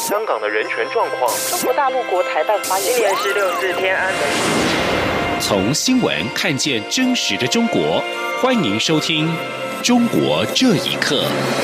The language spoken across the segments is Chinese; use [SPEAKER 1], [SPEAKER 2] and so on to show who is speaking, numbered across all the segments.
[SPEAKER 1] 香港的人权状况。
[SPEAKER 2] 中国大陆国台办发言人
[SPEAKER 3] 今年是64天安门。
[SPEAKER 4] 从新闻看见真实的中国，欢迎收听《中国这一刻》。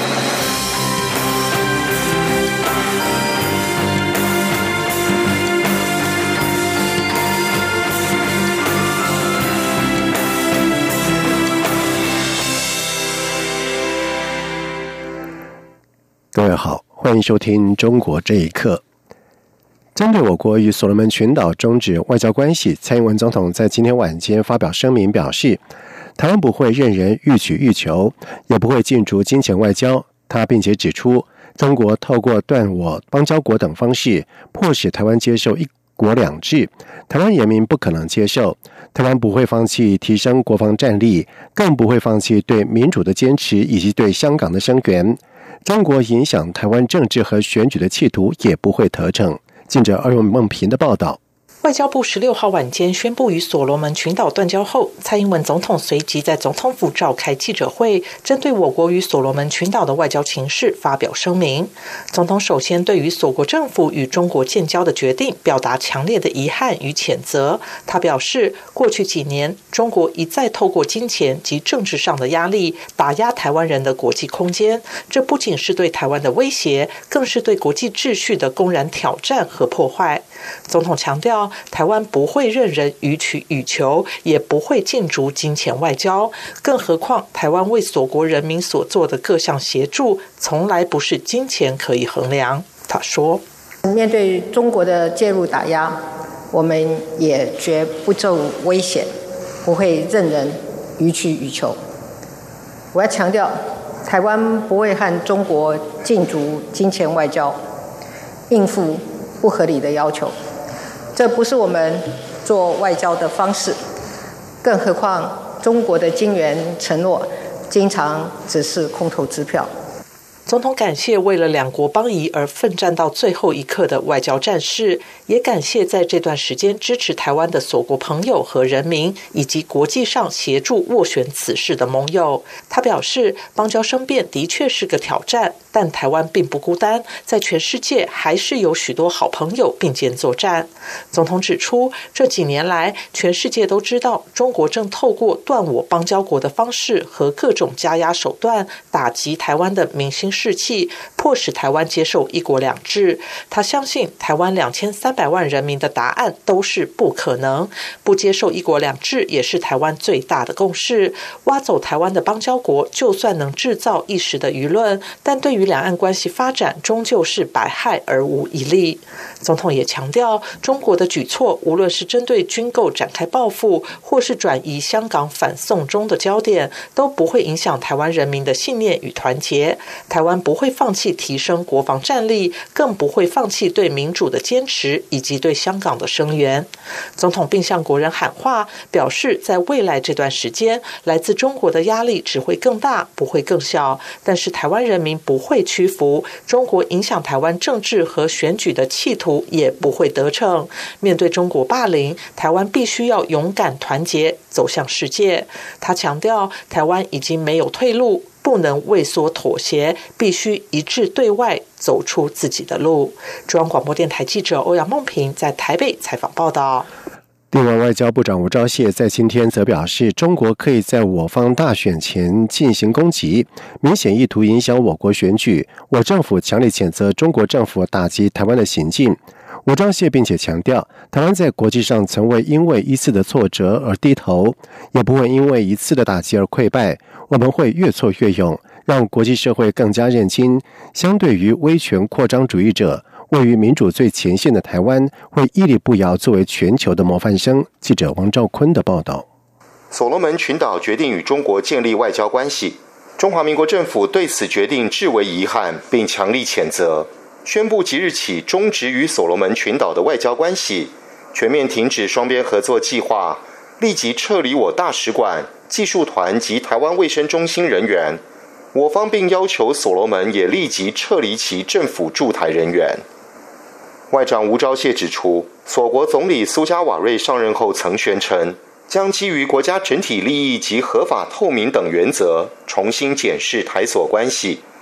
[SPEAKER 5] 各位好，欢迎收听《中国这一刻》。针对我国与所罗门群岛终止外交关系，蔡英文总统在今天晚间发表声明表示，台湾不会任人欲取欲求，也不会进驻金钱外交。他并且指出，中国透过断我邦交国等方式，迫使台湾接受一国两制，台湾人民不可能接受。台湾不会放弃提升国防战力，更不会放弃对民主的坚持以及对香港的声援。中国影响台湾政治和选举的企图也不会得逞。记者欧梦平的报道。
[SPEAKER 2] 外交部16号晚间宣布与所罗门群岛断交后，蔡英文总统随即在总统府召开记者会，针对我国与所罗门群岛的外交情势发表声明。总统首先对于所国政府与中国建交的决定表达强烈的遗憾与谴责。他表示，过去几年，中国一再透过金钱及政治上的压力打压台湾人的国际空间，这不仅是对台湾的威胁，更是对国际秩序的公然挑战和破坏。总统强调，台湾不会任人予取予求，也不会进驻金钱外交，更何况台湾为所国人民所做的各项协助，从来不是金钱可以衡量。他说，
[SPEAKER 6] 面对中国的介入打压，我们也绝不受危险，不会任人予取予求。我要强调，台湾不会和中国进驻金钱外交，应付不合理的要求，这不是我们做外交的方式。更何况中国的金援承诺经常只是空头支票。
[SPEAKER 2] 总统感谢为了两国邦谊而奋战到最后一刻的外交战士，也感谢在这段时间支持台湾的所国朋友和人民，以及国际上协助斡旋此事的盟友。他表示，邦交生变的确是个挑战，但台湾并不孤单，在全世界还是有许多好朋友并肩作战。总统指出，这几年来，全世界都知道中国正透过断我邦交国的方式和各种加压手段打击台湾的民心士气，迫使台湾接受一国两制。他相信台湾2300万人民的答案都是不可能，不接受一国两制也是台湾最大的共识。挖走台湾的邦交国，就算能制造一时的舆论，但对于两岸关系发展终究是百害而无一利。总统也强调，中国的举措无论是针对军购展开报复，或是转移香港反送中的焦点，都不会影响台湾人民的信念与团结。台湾不会放弃提升国防战力，更不会放弃对民主的坚持以及对香港的声援。总统并向国人喊话，表示在未来这段时间，来自中国的压力只会更大，不会更小，但是台湾人民不会屈服，中国影响台湾政治和选举的企图也不会得逞。面对中国霸凌，台湾必须要勇敢团结，走向世界。他强调，台湾已经没有退路，不能畏缩妥协，必须一致对外，走出自己的路。中央广播电台记者欧阳梦平在台北采访报道。
[SPEAKER 5] 另外，外交部长吴钊燮在今天则表示，中国可以在我方大选前进行攻击，明显意图影响我国选举。我政府强烈谴责中国政府打击台湾的行径。吴钊燮并且强调，台湾在国际上从未因为一次的挫折而低头，也不会因为一次的打击而溃败。我们会越挫越勇，让国际社会更加认清，相对于威权扩张主义者，位于民主最前线的台湾会屹立不摇，作为全球的模范生。记者王兆坤的报道。
[SPEAKER 1] 所罗门群岛决定与中国建立外交关系，中华民国政府对此决定至为遗憾，并强力谴责，宣布即日起终止与所罗门群岛的外交关系，全面停止双边合作计划，立即撤离我大使馆、技术团及台湾卫生中心人员。我方并要求所罗门也立即撤离其政府驻台人员。外长吴钊燮指出，所国总理苏加瓦瑞上任后曾宣称，将基于国家整体利益及合法透明等原则，重新检视台所关系，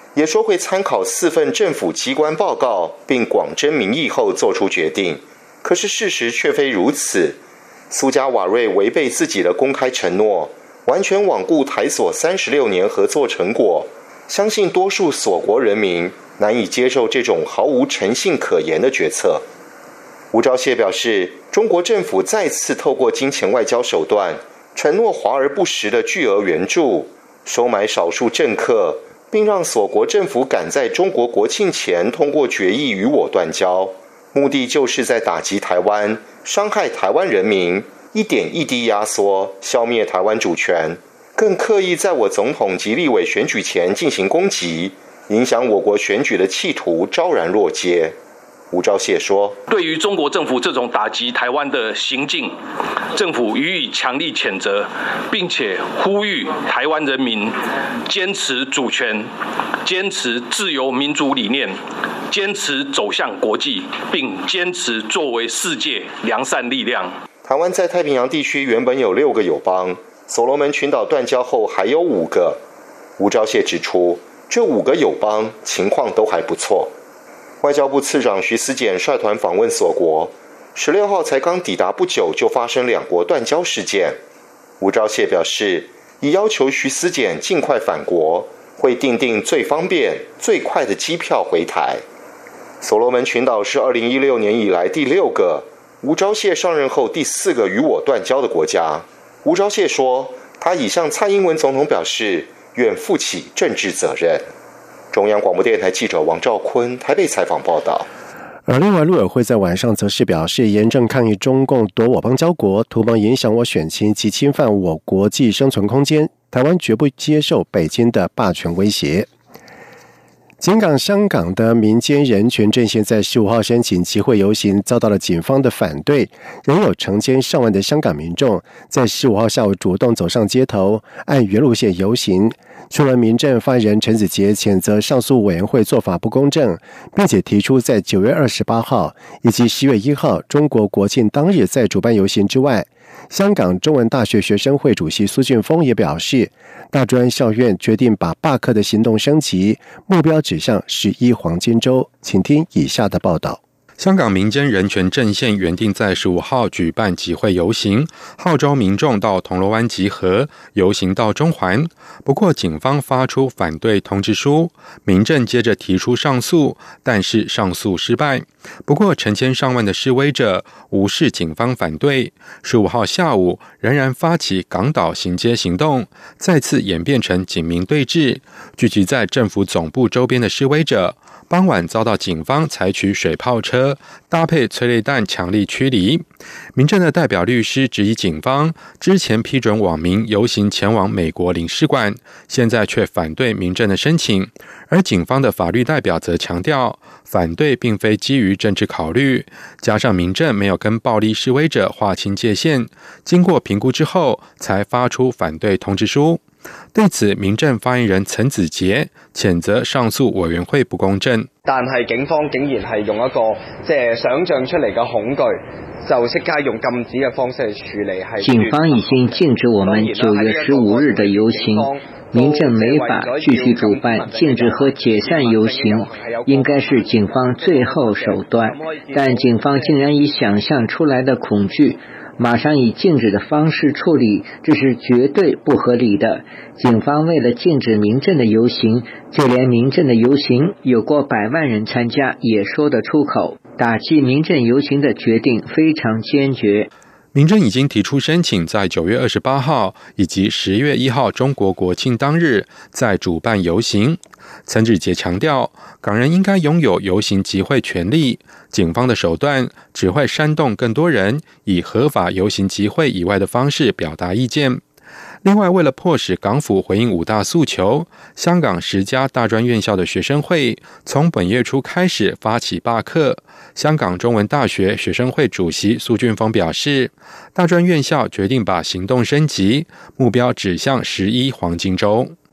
[SPEAKER 1] 也说会参考4份政府机关报告，并广征民意后做出决定。可是事实却非如此，苏加瓦瑞违背自己的公开承诺，完全罔顾台所36年合作成果，相信多数所国人民难以接受这种毫无诚信可言的决策。吴钊燮表示，中国政府再次透过金钱外交手段，承诺华而不实的巨额援助，收买少数政客，并让所国政府赶在中国国庆前通过决议与我断交，目的就是在打击台湾，伤害台湾人民，一点一滴压缩，消灭台湾主权，更刻意在我总统及立委选举前进行攻击，影响我国选举的企图昭然若揭。吴钊燮说，
[SPEAKER 7] 对于中国政府这种打击台湾的行径，政府予以强力谴责，并且呼吁台湾人民坚持主权，坚持自由民主理念，坚持走向国际，并坚持作为世界良善力量。
[SPEAKER 1] 台湾在太平洋地区原本有6个友邦，所罗门群岛断交后还有5个。吴钊燮指出，这5个友邦情况都还不错。外交部次长徐思俭率团访问所国，16号才刚抵达不久，就发生2国断交事件。吴钊燮表示，已要求徐思俭尽快返国，会订定最方便、最快的机票回台。所罗门群岛是2016年以来第6个，吴钊燮上任后第4个与我断交的国家。吴钊燮说，他已向蔡英文总统表示，愿负起政治责任。中央广播电台记者王兆坤台北采访报道。
[SPEAKER 5] 而另外，陆委会在晚上则是表示，严正抗议中共夺我邦交国，图谋影响我选情及侵犯我国际生存空间，台湾绝不接受北京的霸权威胁。警港香港的民间人权阵线在15号申请集会游行，遭到了警方的反对，仍有成千上万的香港民众在15号下午主动走上街头，按原路线游行。除了民阵发言人陈子杰谴责上诉委员会做法不公正，并且提出在9月28号以及10月1号中国国庆当日再主办游行之外，香港中文大学学生会主席苏俊峰也表示，大专校院决定把罢课的行动升级，目标指向11黄金周。请听以下的报道。
[SPEAKER 8] 香港民间人权阵线原定在15号举办集会游行，号召民众到铜锣湾集合，游行到中环。不过警方发出反对通知书，民阵接着提出上诉，但是上诉失败。不过成千上万的示威者无视警方反对，15号下午仍然发起港岛行街行动，再次演变成警民对峙。聚集在政府总部周边的示威者傍晚遭到警方采取水炮车搭配催泪弹强力驱离。民阵的代表律师质疑警方之前批准网民游行前往美国领事馆，现在却反对民阵的申请。而警方的法律代表则强调，反对并非基于政治考虑，加上民阵没有跟暴力示威者划清界限，经过评估之后才发出反对通知书。对此，民陣發言人陳子傑譴責上訴委員會不公正，
[SPEAKER 9] 但係警方竟然係用一個想像出嚟嘅恐懼，就即刻用禁止嘅方式去處理。
[SPEAKER 10] 警方已經禁止我們9月15日的遊行，民陣沒法繼續主辦，禁止和解散遊行應該是警方最後手段，但警方竟然以想象出來的恐懼馬上以禁止的方式處理，這是絕對不合理的。警方為了禁止民陣的遊行，就連民陣的遊行有過100萬人參加也說得出口，打擊民陣遊行的決定非常堅決。
[SPEAKER 8] 民陣已經提出申請在9月28號以及10月1號中國國慶當日再主辦遊行。陳子傑強調，港人應該擁有遊行集會權利，警方的手段只會煽動更多人以合法遊行集會以外的方式表達意見。另外，為了迫使港府回應5大訴求，香港10家大專院校的學生會從本月初開始發起罷課。香港中文大學學生會主席蘇俊峰表示，大專院校決定把行動升級，目標指向11黃金週。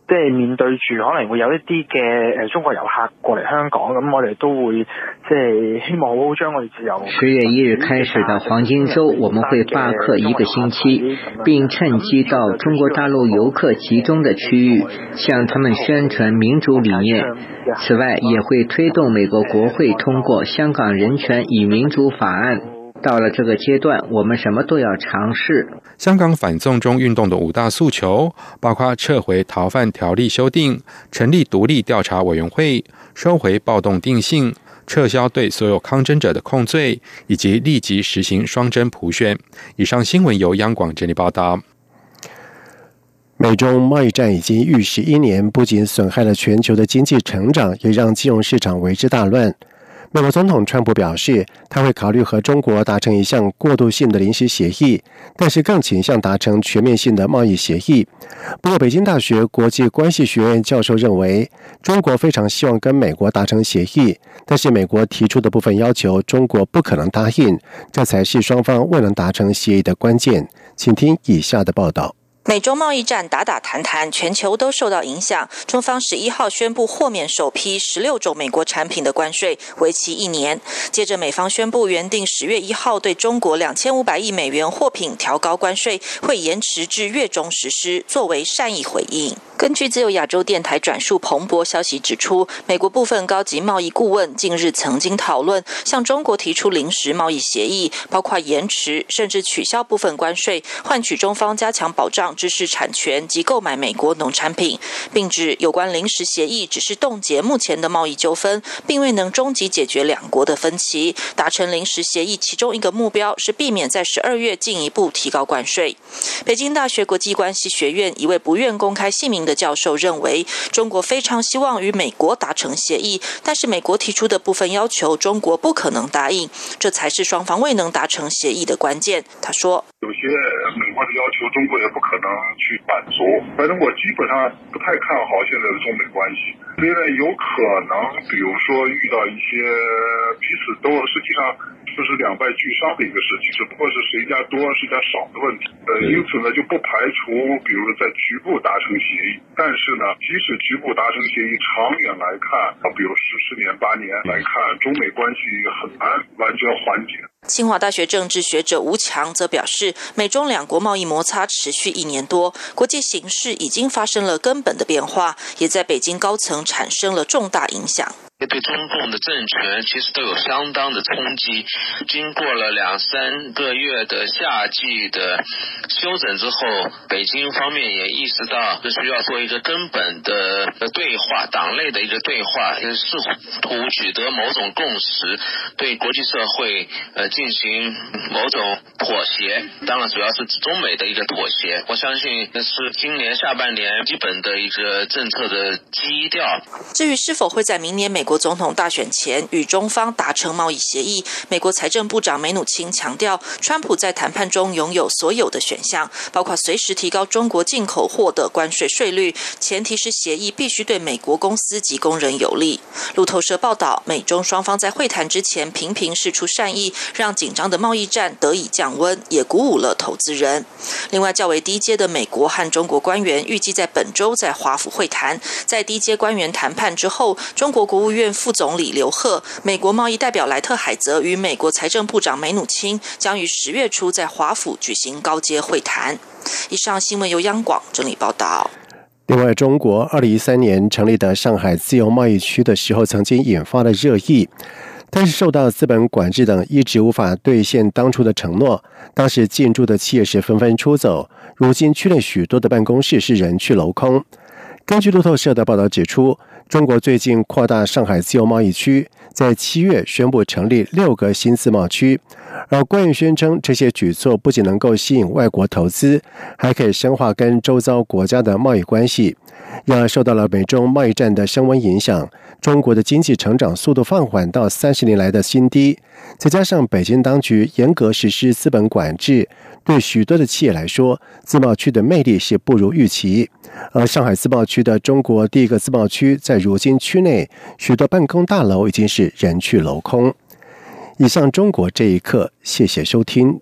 [SPEAKER 11] 即係面對住可能會有一啲嘅中國遊客過嚟香港，咁我哋都會即係希望好好將我哋自由。
[SPEAKER 10] 10月1日開始的黃金周，我們會罷課1個星期，並趁機到中國大陸遊客集中的區域，向他們宣傳民主理念。此外，也會推動美國國會通過香港人權與民主法案。到了這個階段，我們什麼都要嘗試。
[SPEAKER 8] 香港反送中運動的5大訴求，包括撤回逃犯條例修訂、成立獨立調查委員會、收回暴動定性、撤銷對所有抗爭者的控罪，以及立即實行雙真普選。以上新聞由央廣整理報道。
[SPEAKER 5] 美中貿易戰已經逾11年，不僅損害了全球的經濟成長，也讓金融市場為之大亂。美國總統川普表示，他會考慮和中國達成一項過渡性的臨時協議，但是更傾向達成全面性的貿易協議。不過，北京大學國際關係學院教授認為，中國非常希望跟美國達成協議，但是美國提出的部分要求，中國不可能答應，這才是雙方未能達成協議的關鍵。請聽以下的報道。
[SPEAKER 12] 美中貿易戰打打談談，全球都受到影響。中方11號宣布豁免首批16種美國產品的關稅，為期1年。接着美方宣布原定10月1號對中國2500億美元貨品調高關稅，會延遲至月中實施，作為善意回應。根據自由亞洲電台轉述彭博消息指出，美國部分高級貿易顧問近日曾經討論向中國提出臨時貿易協議，包括延遲甚至取消部分關稅，換取中方加強保障知識產權及購買美國農產品，並指有關臨時協議只是凍結目前的貿易糾紛，並未能終極解決兩國的分歧。達成臨時協議其中一個目標是避免在12月進一步提高關稅。北京大學國際關係學院一位不願公開姓名的教授認為，中國非常希望與美國達成協議，但是美國提出的部分要求中國不可能答應，這才是雙方未能達成協議的關鍵。他說，
[SPEAKER 13] 有些美國的要求中國也不可能去滿足，反正我基本上不太看好現在的中美關係。雖然有可能比如說遇到一些彼此都實際上就是兩敗俱傷的一個事情，只不過是誰家多誰家少的問題。因此呢就不排除比如在局部達成協議，但是呢即使局部達成協議，長遠來看比如10年8年來看，中美關係很難完全緩解。
[SPEAKER 12] 清華大學政治學者吳強則表示，美中兩國貿易摩擦持續1年多，國際形勢已經發生了根本的變化，也在北京高層產生了重大影響。
[SPEAKER 14] 對中共的政權其實都有相當的衝擊，經過了2-3個月的夏季的休整之後，北京方面也意識到這需要做一個根本的對話，黨內的一個對話，試圖取得某種共識，對國際社會進行某種妥協，當然主要是中美的一個妥協。我相信這是今年下半年基本的一個政策的基調。
[SPEAKER 12] 至於是否會在明年美國總統大選前與中方達成貿易協議，美國財政部長梅努欽強調，川普在談判中擁有所有的選項，包括隨時提高中國進口貨的關稅稅率，前提是協議必須對美國公司及工人有利。路透社報道，美中雙方在會談之前頻頻釋出善意，讓緊張的貿易戰得以降溫，也鼓舞了投資人。另外，較為低階的美國和中國官員預計在本週在華府會談。在低階官員談判之後，中國國務院副總理劉鶴、美國貿易代表萊特海澤與美國財政部長梅努欽將於10月初在華府舉行高階會談。以上新聞由央廣整理報道。
[SPEAKER 5] 另外，中國2013年成立的上海自由貿易區的時候，曾經引發了熱議，但是受到資本管制等一直無法兌現當初的承諾，當時進駐的企業是紛紛出走，如今區內許多的辦公室是人去樓空。根據路透社的報道指出，中國最近擴大上海自由貿易區，在7月宣布成立6個新自貿區，而官員宣稱這些舉措不僅能夠吸引外國投資，還可以深化跟周遭國家的貿易關係。然而受到了美中貿易戰的升溫影響，中國的經濟成長速度放緩到30年來的新低，再加上北京當局嚴格實施資本管制，對許多的企業來說，自貿區的魅力是不如預期。而上海自貿區的中國第一個自貿區，在如今區內許多辦公大樓已經是人去樓空。以上中國這一刻，謝謝收聽。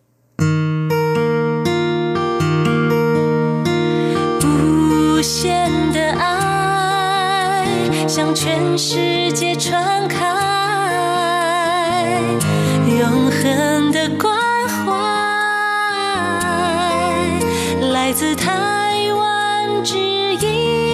[SPEAKER 15] 無限的愛向全世界传开，永恒的关怀来自他